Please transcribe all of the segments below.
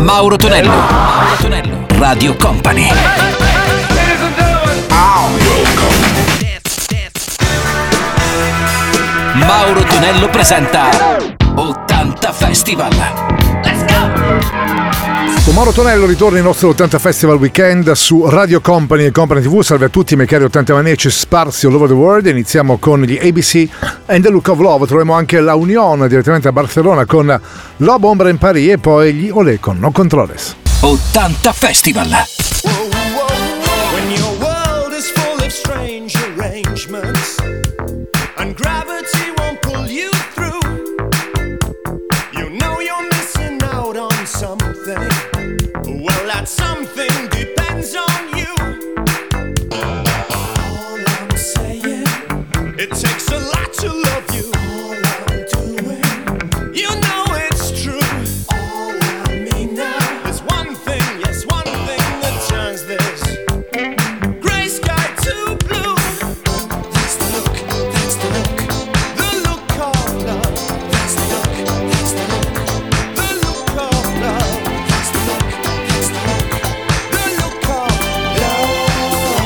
Mauro Tonello. Mauro Tonello. Radio Company. Mauro Tonello presenta 80 Festival. Let's go! Con Mauro Tonello ritorna il nostro 80 Festival Weekend su Radio Company e Company TV. Salve a tutti, miei cari 80 maniaci sparsi all over the world. Iniziamo con gli ABC and the Look of Love. Troviamo anche la Union direttamente a Barcellona con L'Aube Ombre in Paris e poi gli Olé con No Controles. 80 Festival. When your world is full of strange arrangements and gravity won't pull you through, you know you're missing out on something. Well, that something depends on you. All I'm saying, it takes a lot to love you. All I'm doing, you know it's true. All I mean now is one thing, yes, one thing that turns this gray sky to blue. That's the look, that's the look, the look of love. That's the look, that's the look, the look of love. That's the look, that's the look, the look of love.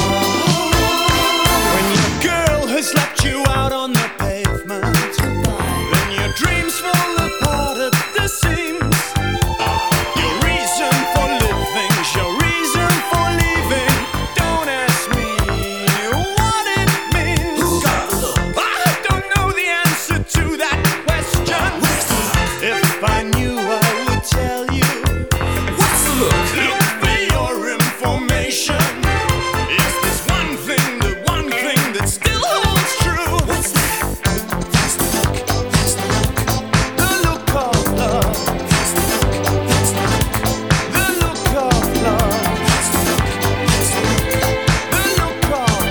When your girl has left you out on the pavement, then your dreams fall apart at the seams. Your reason for living, your reason for leaving. Don't ask me what it means. I don't know the answer to that question. If I knew, I would tell you. What's the look? Look for your information. Is this one thing, the one thing that still holds true? What's that? That's the look, that's the look, the look of love. That's the look, that's the look, the look of love. That's the look, that's the look, the look of love.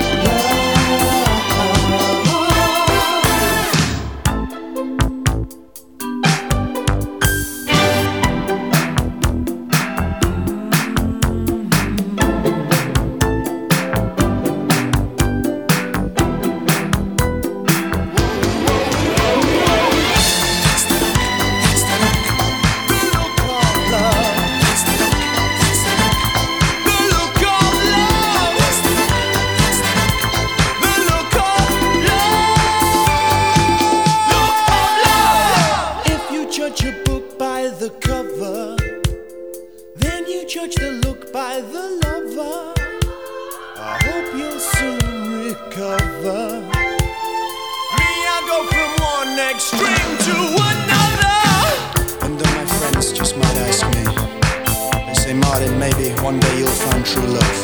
If you judge a book by the cover, then you judge the look by the lover. I hope you'll soon recover. Me, I go from one extreme to another. And my friends just might ask me, they say, Martin, maybe one day you'll find true love.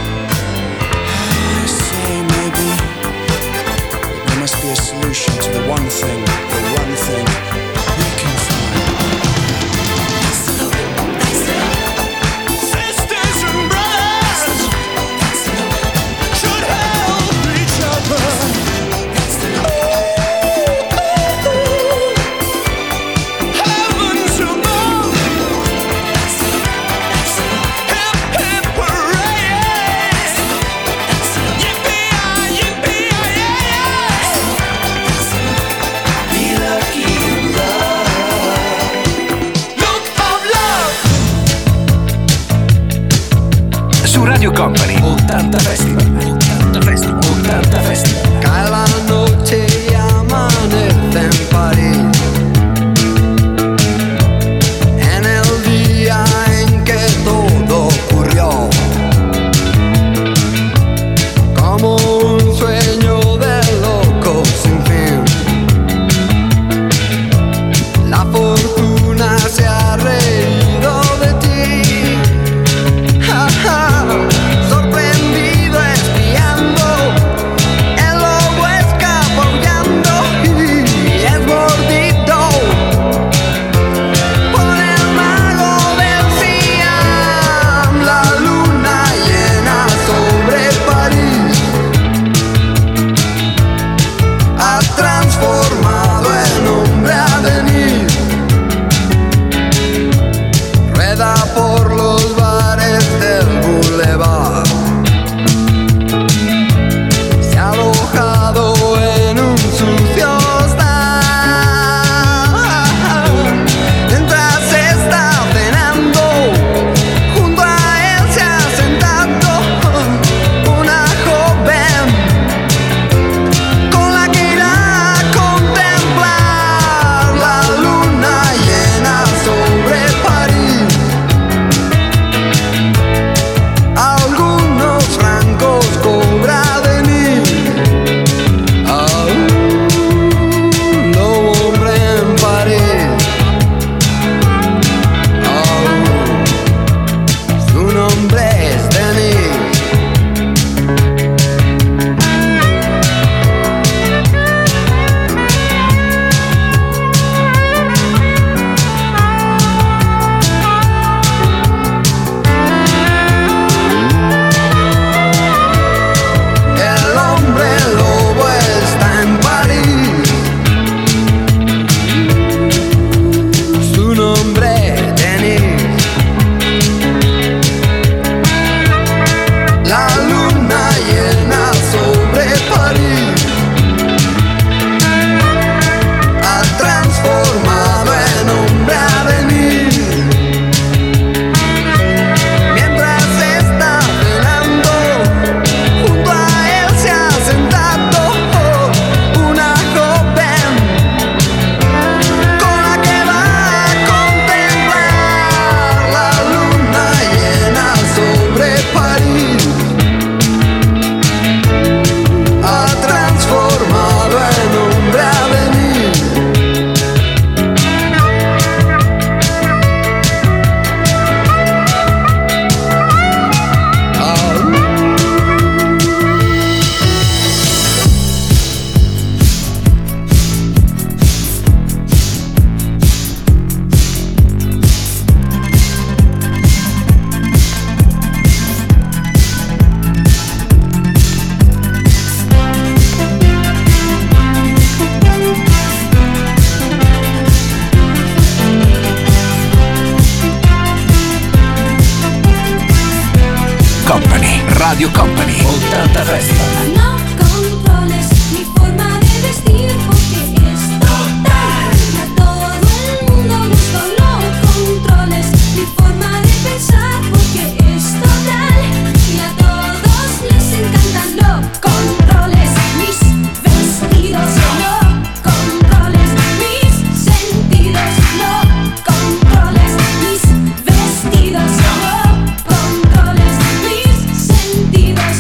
I say maybe, but there must be a solution to the one thing we can find. Sisters and brothers should help each other. Heavens above, hip hip hooray! Yippee-yi, yippee-yi-yi! Be lucky in love. Look of love. Su Radio Company 80 Festival. 80 Festival. 80 Festival. Cae la noche y amanece en París. En el día en que todo ocurrió, como un sueño de loco sin fin. La fortuna se ha reído de ti. Ja, ja. Sorprendido espiando el Radio Company 80 Festival. No controles mi forma de vestir porque es total. A todo el mundo gusto. No controles mi forma de pensar porque es total. Y a todos les encantan. No controles mis vestidos. No controles mis sentidos. No controles mis vestidos. No controles mis sentidos.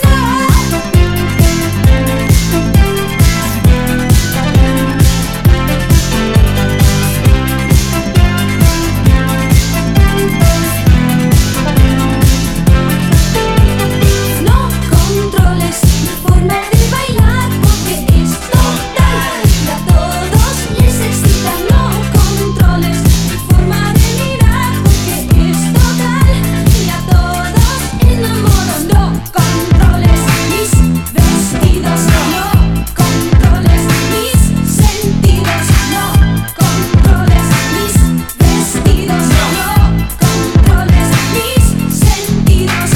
No controles mi forma de bailar porque es total. Y a todos les excita. No controles mi forma de mirar porque es total. Y a todos enamoro. No controles mis vestidos. No controles mis sentidos. No controles mis vestidos. No controles mis sentidos.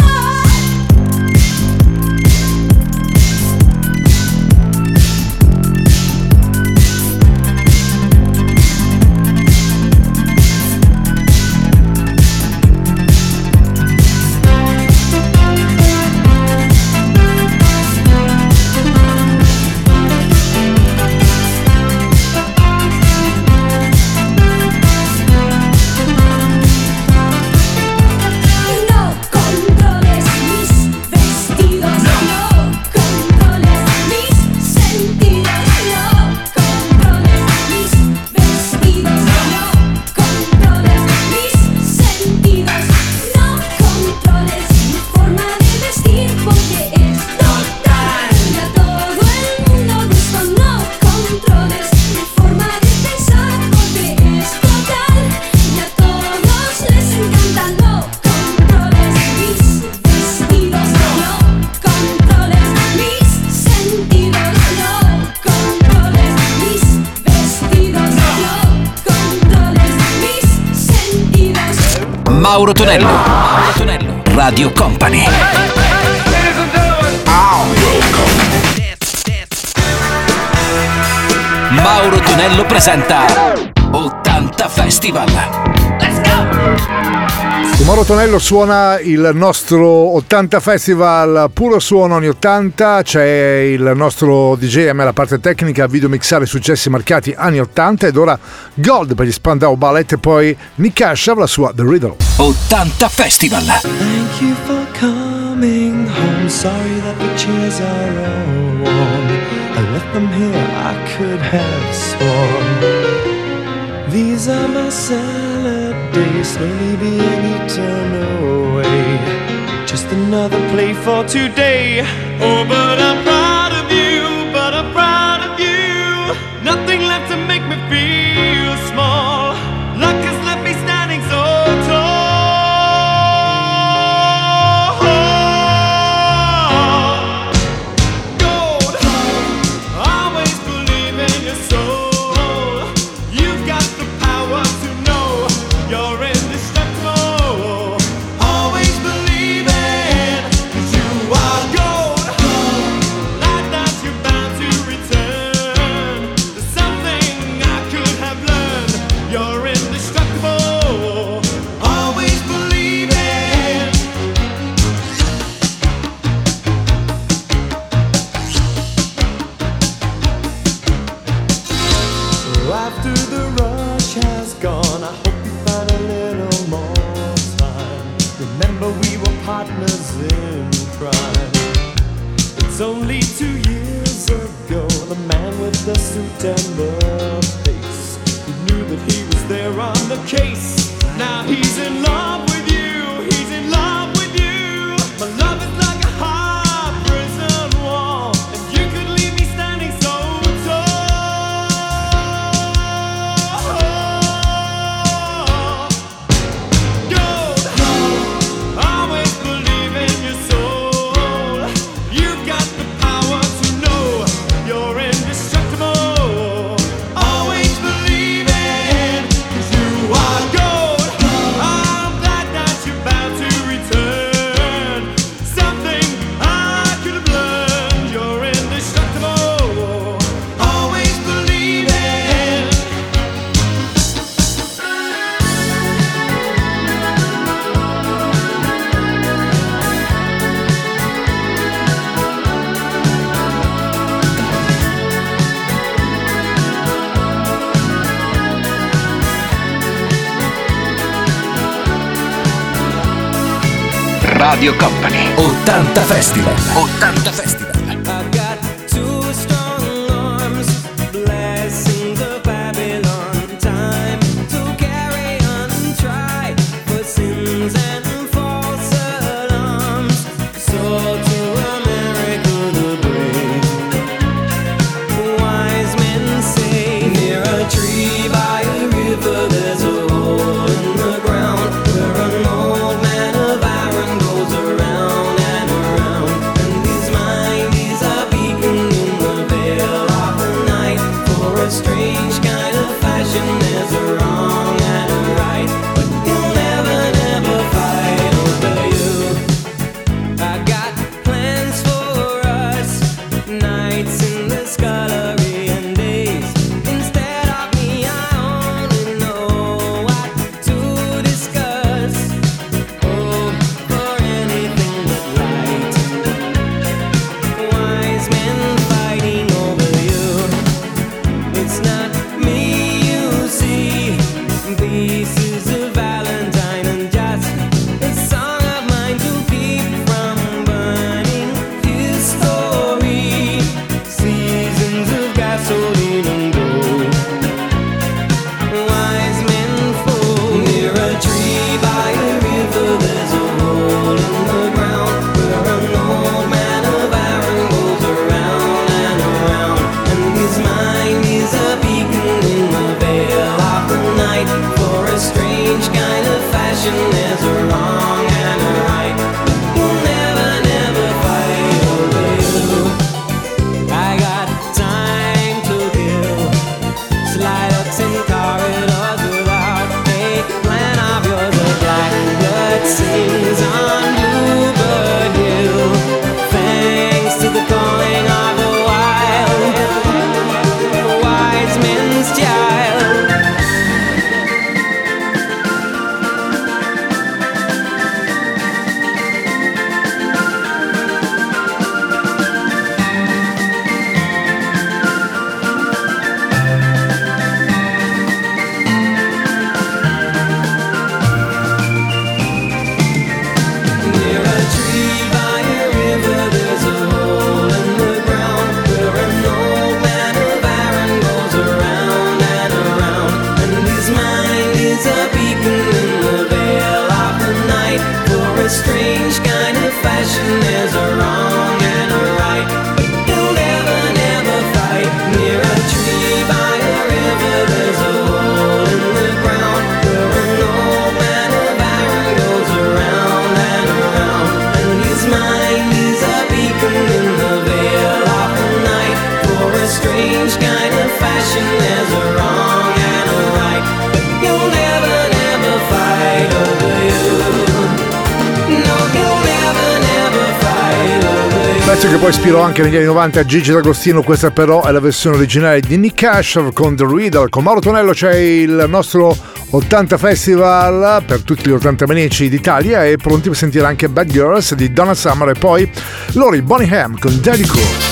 No controles mis vestidos. No controles mis sentidos. No controles mis vestidos. No controles mis sentidos. No controles mi forma de vestir porque es total. Y a todo el mundo gusto. No controles mi forma de pensar porque es total. Y a todos les encanta. No controles mis vestidos. No controles mis sentidos. No controles mis vestidos. No controles mis sentidos. Mauro Tonello, Radio Company. Mauro Tonello presenta 80 Festival. Let's go! Mauro Tonello suona il nostro 80 Festival, puro suono anni 80, c'è il nostro DJ a me la parte tecnica, video mixare successi marcati anni 80 ed ora Gold per gli Spandau Ballet e poi Nick Asher la sua The Riddle. 80 Festival. Thank you for coming home. Sorry that the chairs are all warm. I left them here, I could have sworn. These are my salad days, slowly being eaten away. Just another play for today. Oh, but I'm proud of you, but I'm proud of you. Nothing left to make me feel small. Luck has left me standing so tall. Gold, always believe in your soul. You've got the power to know you're indestructible. Always believe it, 'cause you are gold. Like that you're bound to return. There's something I could have learned. You're indestructible. Always believe it. So after the rush has gone, I hope you find a little more time. Remember we were partners in crime. It's only 2 years ago, the man with the suit and the face, who knew that he was there on the case. Now he's in love with you, he's in love with you. My love is like a hard prison wall, and you could leave me standing so tall. Gold, always believe in your soul. You've got the power to know you're indestructible. Always believe it, 'cause you are gold. Radio Company. 80 Festival. 80 Festival. I've got two strong arms, blessings of Babylon. Time to carry on, try for sins and false alarms. So to America the brave, wise men say, near a tree by a river there's a hole in the ground where an old man of iron goes around and around. And his mind is a beacon in the veil of the night. For a strange kind of fashion there's a wrong and a right, but he'll never, never fight over you. I got plans for us, nights in the scullery and days. Instead of me, I only know what to discuss. Oh, for anything but light. Wise men fighting over you. It's not me you see. Pieces of Valentine and just a song of mine to keep from burning his story. Seasons of gasoline and gold. Wise men fall near a tree by a river. There's a hole in the ground where an old man of iron goes around and around. And his mind is a beacon in the veil of the night. For a strange kind of fashion there's a wrong and a right. You'll never, never fight over you. I got time to kill. Slide ups in corridors without a plan of yours. A blackbird sings on Bluebird Hill. Thanks to the calling of the wild, wise men's child. Near a tree by a river there's a hole in the ground where an old man of iron goes around and around. And his mind is a beacon in the veil of the night. For a strange kind of fashion there's a wrong and a right, but he'll never, never fight. Near a tree by a river there's a hole in the ground where an old man of iron goes around and around. And his mind is a beacon in the veil of the night. For a strange kind of fashion there's a wrong and a right, but you'll never, never fight over you. No, you'll never, never fight over you. Pezzo che poi ispirò anche negli anni 90 a Gigi D'Agostino. Questa però è la versione originale di Nick Cash con The Riddle. Con Mauro Tonello c'è il nostro 80 Festival per tutti gli 80 maniaci d'Italia e pronti per sentire anche Bad Girls di Donna Summer e poi Lori Bonningham con Daddy Cool.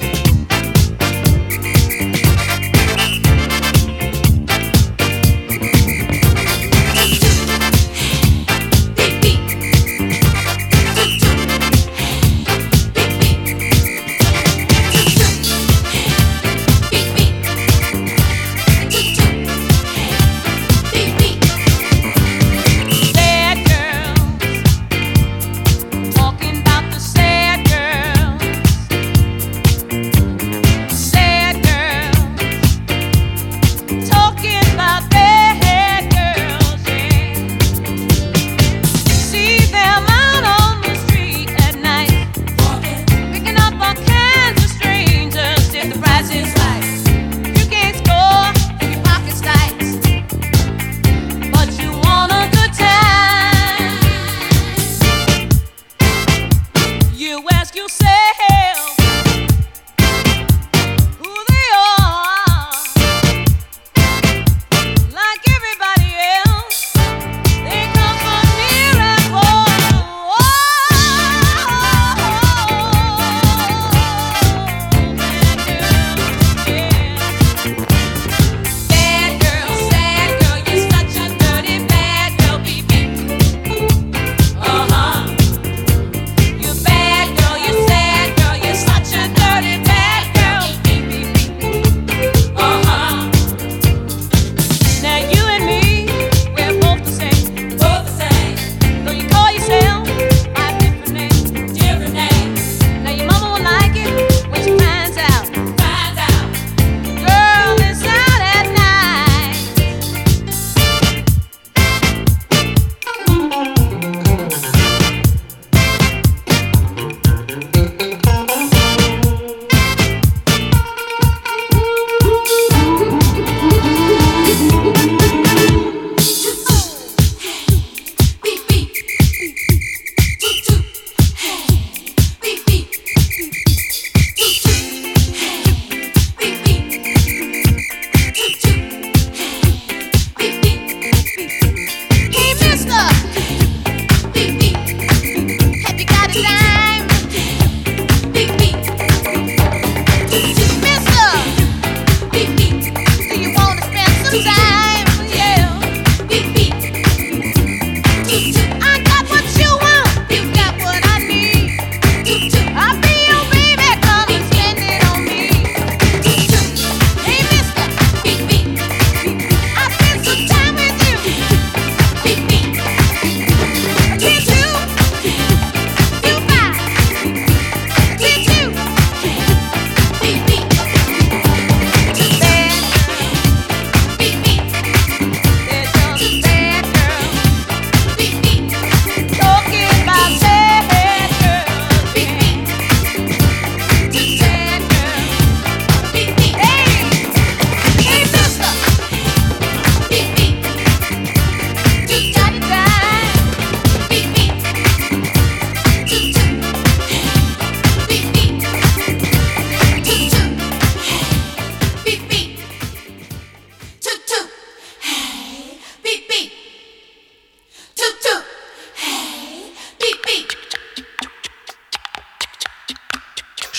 Sad girls, talking about the sad girls.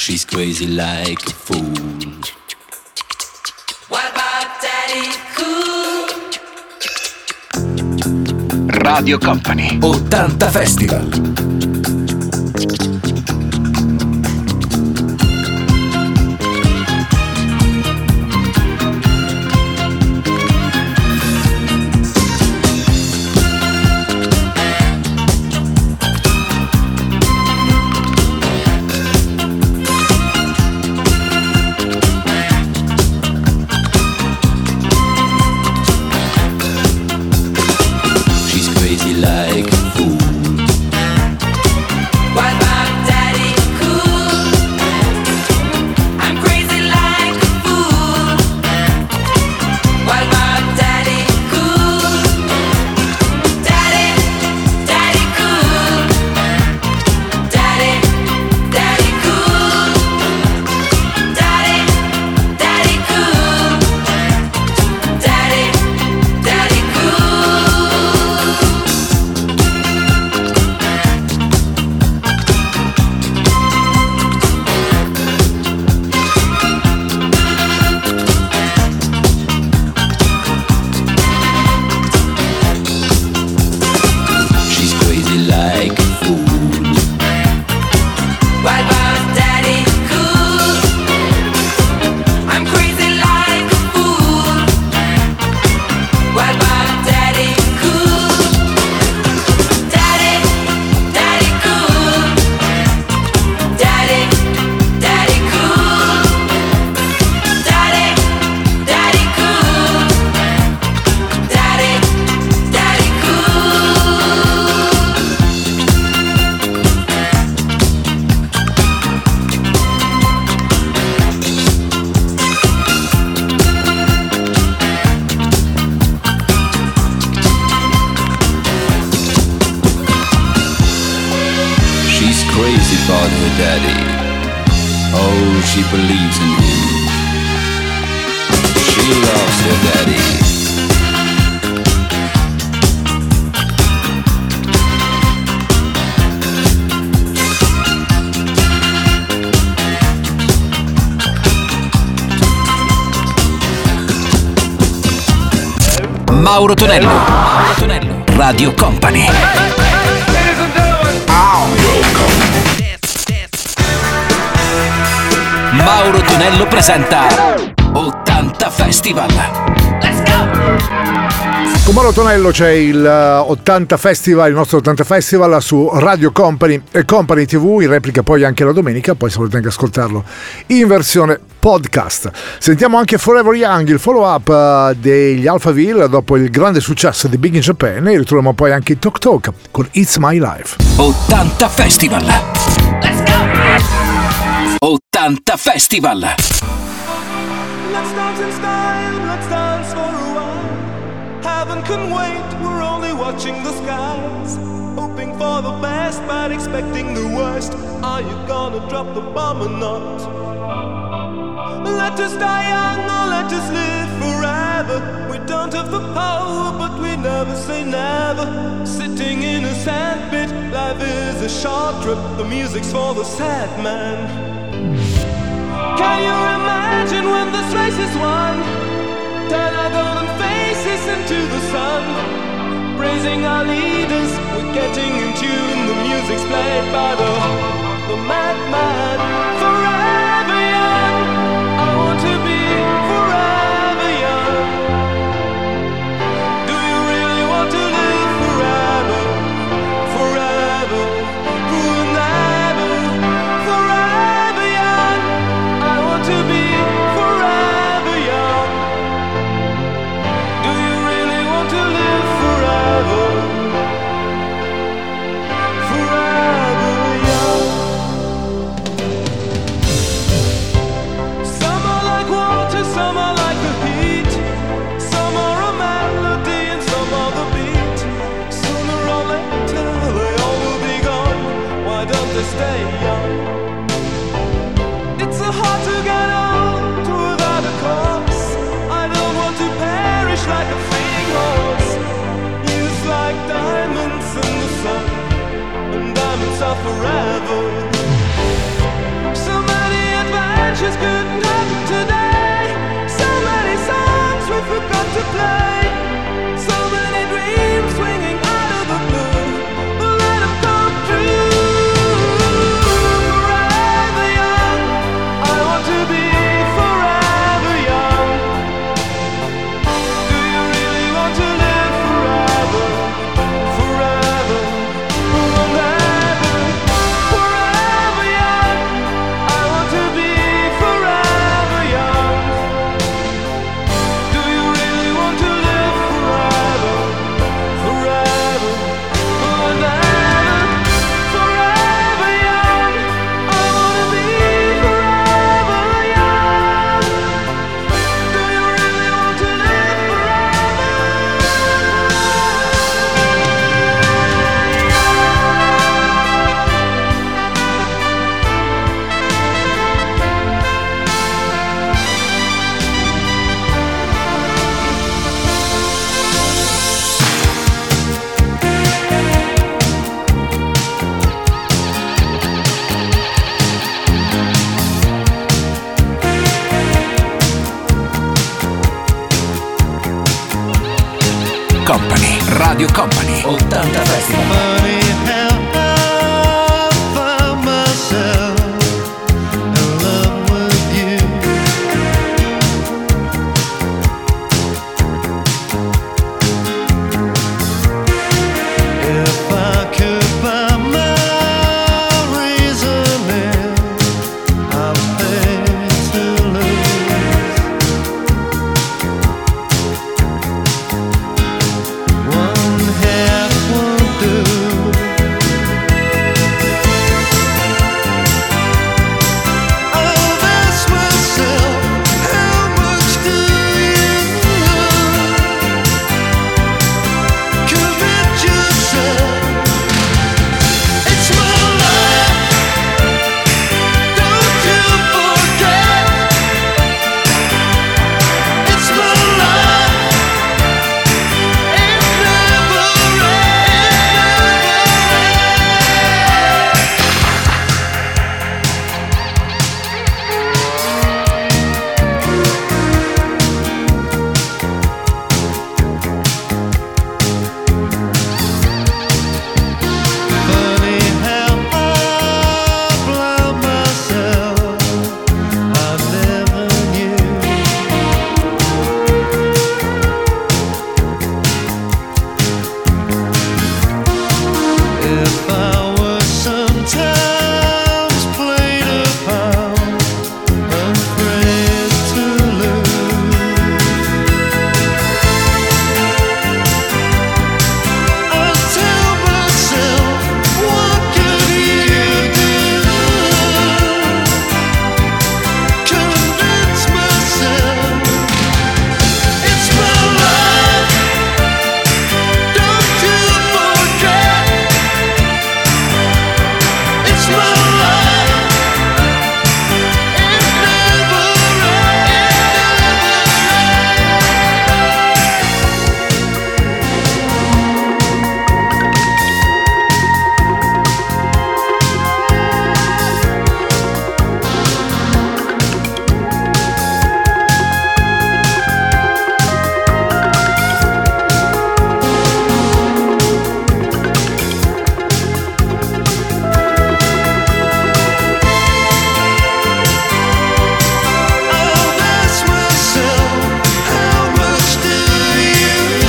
She's crazy like a fool. What about Daddy Cool? Radio Company 80 Festival. She believes in him. She loves her daddy. Mauro Tonello. Mauro Tonello. Radio Company. Mauro Tonello presenta 80 Festival. Let's go! Con Mauro Tonello c'è il 80 Festival, il nostro 80 Festival su Radio Company e Company TV, in replica poi anche la domenica, poi se volete anche ascoltarlo in versione podcast. Sentiamo anche Forever Young, il follow-up degli Alphaville dopo il grande successo di Big in Japan, e ritroviamo poi anche i Tok Tok con It's My Life. 80 Festival. Let's go! 80 Festival. Let's dance in style, let's dance for a while. Heaven can wait, we're only watching the skies. Hoping for the best, but expecting the worst. Are you gonna drop the bomb or not? Let us die young or let us live forever. We don't have the power, but we never say never. Sitting in a sandpit, life is a short trip. The music's for the sad man. Can you imagine when this race is won? Turn our golden faces into the sun. Praising our leaders, we're getting in tune. The music's played by the madman. Forever young, I want to be forever young. Do you really want to live forever? Forever, forever, forever young. I want to be forever young. Do you really want to live forever? Forever young. 80 Festival. Funny how I find myself in love with you. If I could buy my reasoning, I'd pay to lose. One half won't do. I'll ask myself, how much do you commit yourself? It's my life, don't you forget. It's my life, it never Funny how I blind myself, I never knew. If I were sometimes played upon, afraid to lose, I tell myself, what could you do? Convince myself, it's my life, don't you forget. It's my life, it never I'll ask myself, how much do you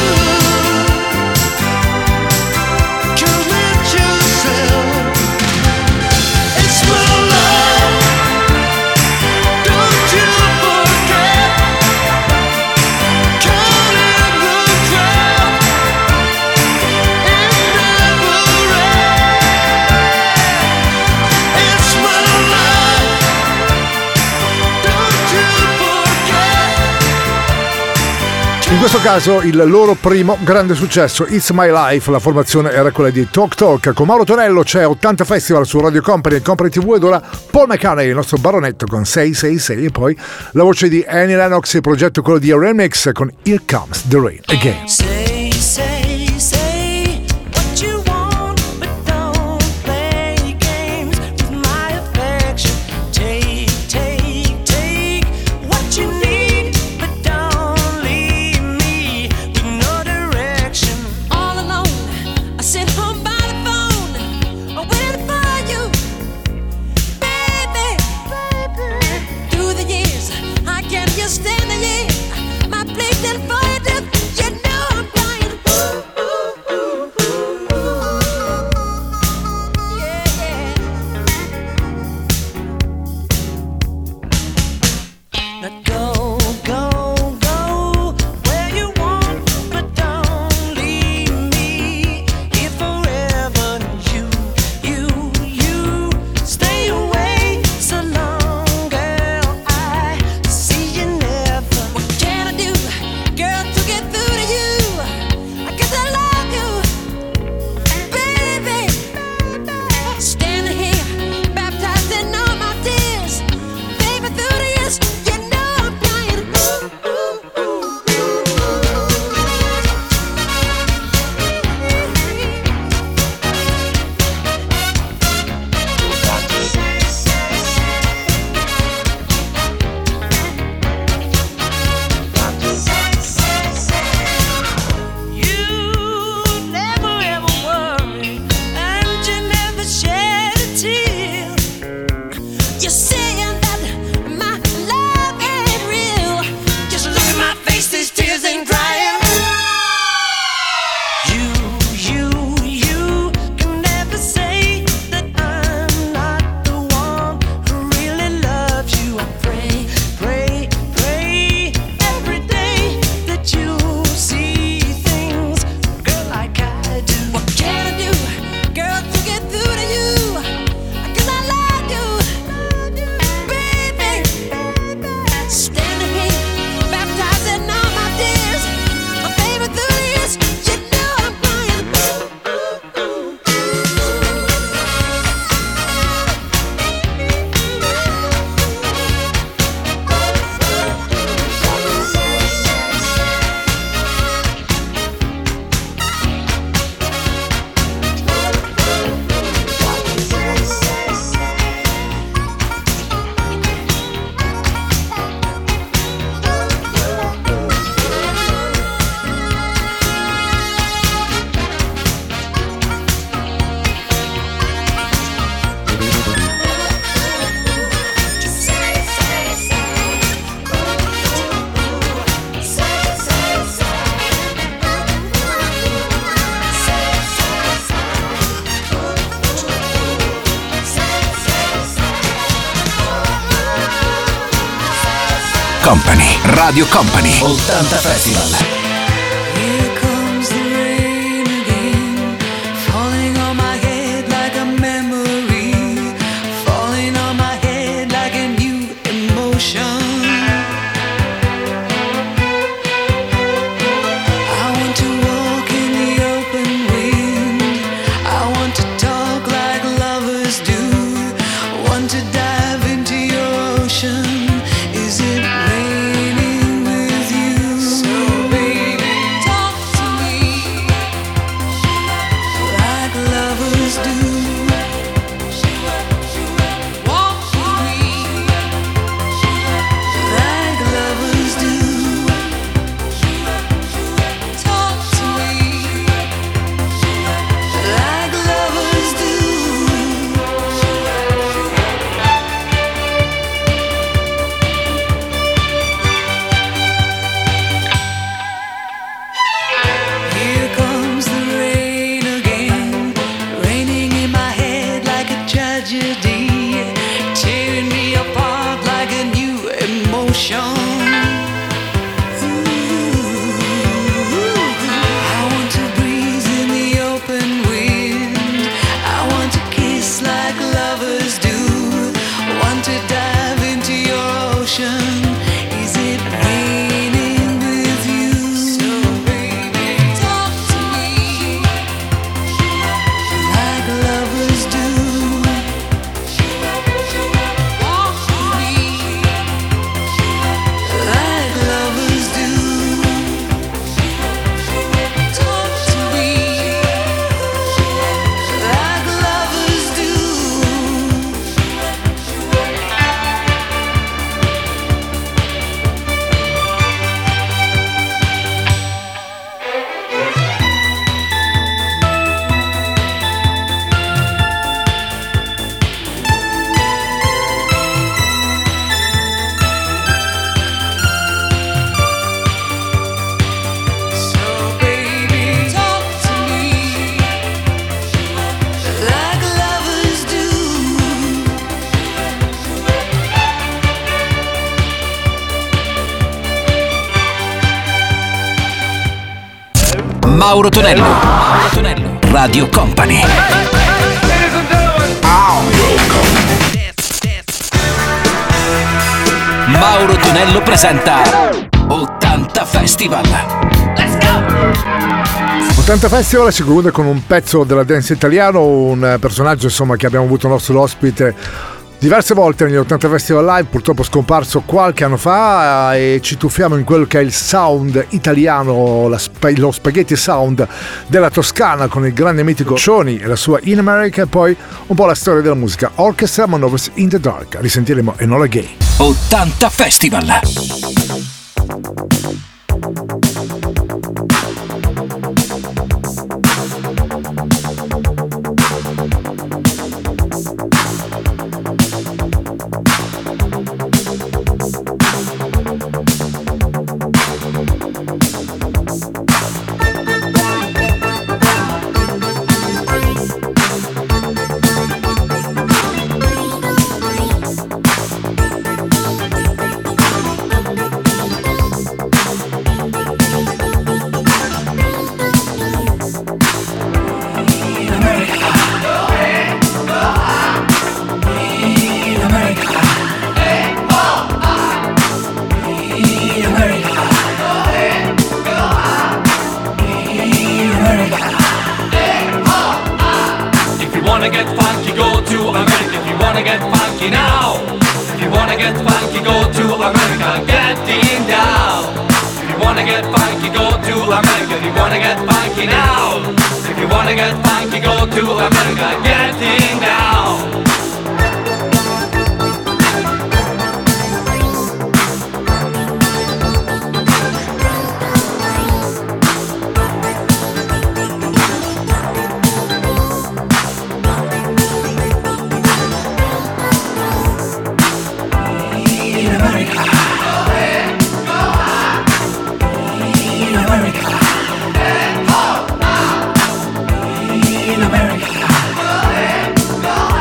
commit yourself? It's my life, don't you forget. Caught in the crowd, it never ends. It's my life, don't you forget. In questo caso il loro primo grande successo, It's My Life, la formazione era quella di Talk Talk. Con Mauro Tonello c'è 80 Festival su Radio Company e Company TV ed ora Paul McCartney, il nostro baronetto con 666 e poi la voce di Annie Lennox, il progetto quello di Remix con Here Comes the Rain Again. Say, say, say what you want, but don't play games with my affection. Take, take, take what you need, but don't leave me with no direction. All alone, I sit home by the phone, waiting for you, baby. Through the years, I can't just stand the year. My place and for you, you know I'm Company. Radio Company 80 Festival. Here comes the rain again, falling on my head like a memory, falling on my head like a new emotion. I want to walk in the open wind, I want to talk like lovers do, want to dive into your ocean. Is it raining with you? So baby, talk to me like lovers do. Walk with me like lovers do. Talk to me like lovers do. Here comes the rain again, raining in my head like a tragedy, tearing me apart like a new emotion. I want to breathe in the open wind, I want to kiss like lovers do, want to dive into your ocean. Is it raining with you? So baby, talk to me like lovers do. Walk with me like lovers do. Talk to me like lovers do. So baby, talk to me like lovers do. Mauro Tonello. Mauro Tonello. Radio Company. Mauro Tonello presenta 80 Festival. 80 Festival si conclude con un pezzo della dance italiano, un personaggio insomma che abbiamo avuto nostro ospite diverse volte negli 80 Festival Live, purtroppo scomparso qualche anno fa, e ci tuffiamo in quello che è il sound italiano, lo spaghetti sound della Toscana con il grande mitico Cioni e la sua In America, e poi un po' la storia della musica Orchestra Manovers in the Dark. Risentiremo Enola Gay. 80 Festival. In America.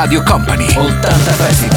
Radio Company 80 Festival.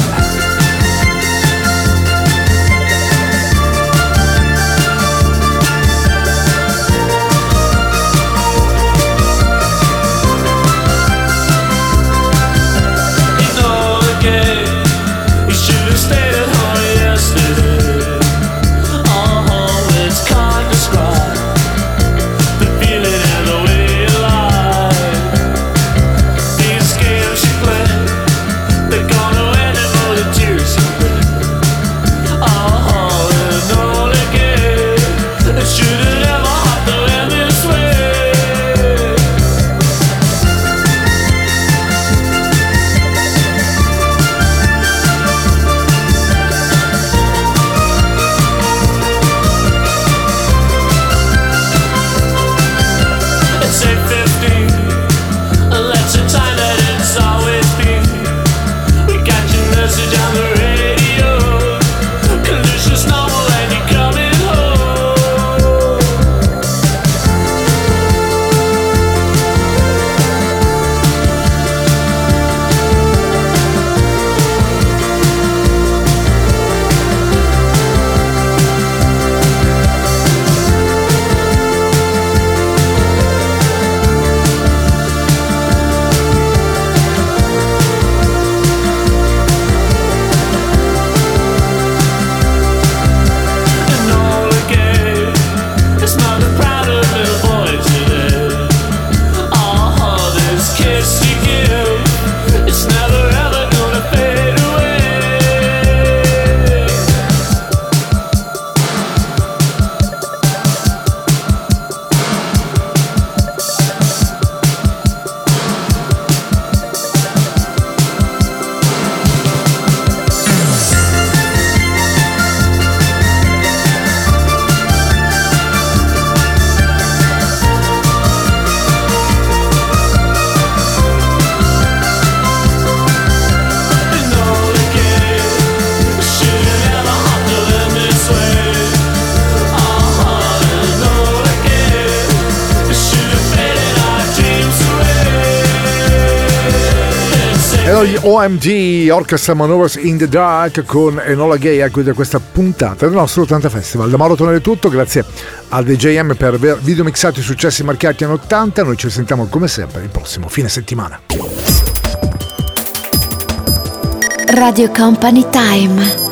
Gli OMG, Orchestra Maneuvers in the Dark con Enola Gay a chiudere questa puntata del nostro 80 Festival. Da Mauro Tonello è tutto, grazie al DJM per aver videomixato i successi marcati anni 80. Noi ci sentiamo come sempre il prossimo fine settimana. Radio Company Time.